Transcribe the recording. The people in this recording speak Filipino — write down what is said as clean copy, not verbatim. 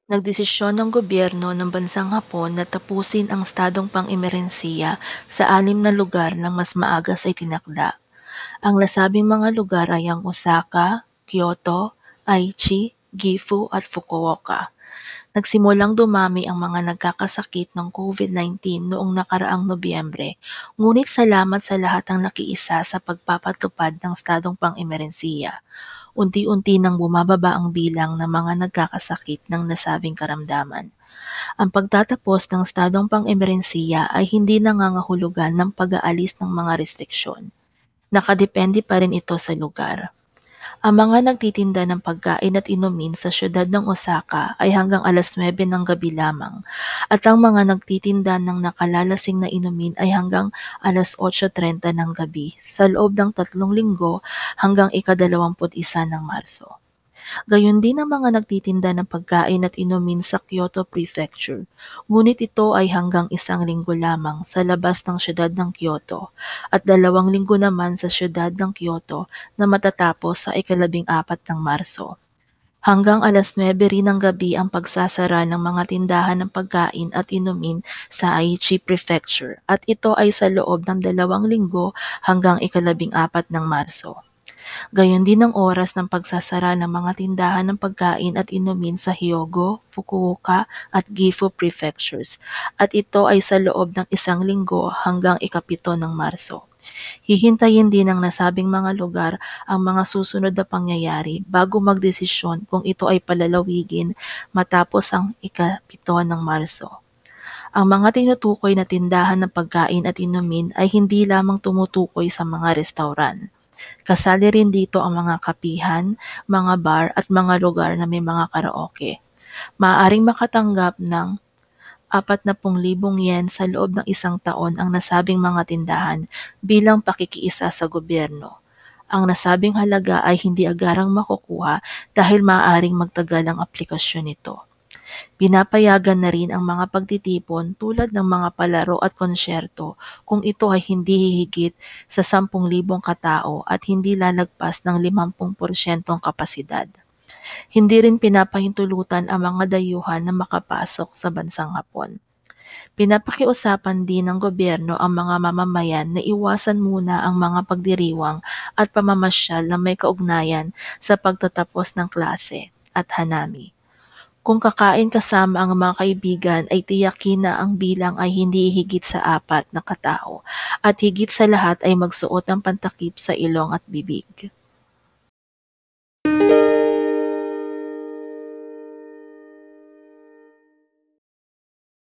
Nagdesisyon ng gobyerno ng bansang Hapon na tapusin ang estadong pang-emerhensiya sa 6 na lugar nang mas maaga sa itinakda. Ang nasabing mga lugar ay ang Osaka, Kyoto, Aichi, Gifu at Fukuoka. Nagsimulang dumami ang mga nagkakasakit ng COVID-19 noong nakaraang Nobyembre, ngunit salamat sa lahat ang nakiisa sa pagpapatupad ng estadong pang-emerhensiya. Unti-unti nang bumababa ang bilang ng mga nagkakasakit ng nasabing karamdaman. Ang pagtatapos ng estadong pang-emerhensiya ay hindi nangangahulugan ng pag-aalis ng mga restriksyon. Nakadepende pa rin ito sa lugar. Ang mga nagtitinda ng pagkain at inumin sa siyudad ng Osaka ay hanggang 9:00 ng gabi lamang, at ang mga nagtitinda ng nakalalasing na inumin ay hanggang 8:30 ng gabi sa loob ng 3 linggo hanggang ika-21 ng Marso. Gayon din ang mga nagtitinda ng pagkain at inumin sa Kyoto Prefecture, ngunit ito ay hanggang 1 linggo lamang sa labas ng siyudad ng Kyoto at 2 linggo naman sa siyudad ng Kyoto na matatapos sa ika-14 ng Marso. Hanggang 9:00 rin ng gabi ang pagsasara ng mga tindahan ng pagkain at inumin sa Aichi Prefecture, at ito ay sa loob ng 2 linggo hanggang ika-14 ng Marso. Gayon din ang oras ng pagsasara ng mga tindahan ng pagkain at inumin sa Hyogo, Fukuoka at Gifu Prefectures, at ito ay sa loob ng 1 linggo hanggang ika-7 ng Marso. Hihintayin din ng nasabing mga lugar ang mga susunod na pangyayari bago magdesisyon kung ito ay palalawigin matapos ang ika-7 ng Marso. Ang mga tinutukoy na tindahan ng pagkain at inumin ay hindi lamang tumutukoy sa mga restauran. Kasali rin dito ang mga kapihan, mga bar at mga lugar na may mga karaoke. Maaaring makatanggap ng 40,000 yen sa loob ng 1 taon ang nasabing mga tindahan bilang pakikiisa sa gobyerno. Ang nasabing halaga ay hindi agarang makukuha dahil maaaring magtagal ang aplikasyon nito. Pinapayagan na rin ang mga pagtitipon tulad ng mga palaro at konsyerto kung ito ay hindi hihigit sa 10,000 katao at hindi lalagpas ng 50% kapasidad. Hindi rin pinapahintulutan ang mga dayuhan na makapasok sa bansang Hapon. Pinapakiusapan din ng gobyerno ang mga mamamayan na iwasan muna ang mga pagdiriwang at pamamasyal na may kaugnayan sa pagtatapos ng klase at hanami. Kung kakain kasama ang mga kaibigan ay tiyakin na ang bilang ay hindi higit sa 4 na katao at higit sa lahat ay magsuot ng pantakip sa ilong at bibig.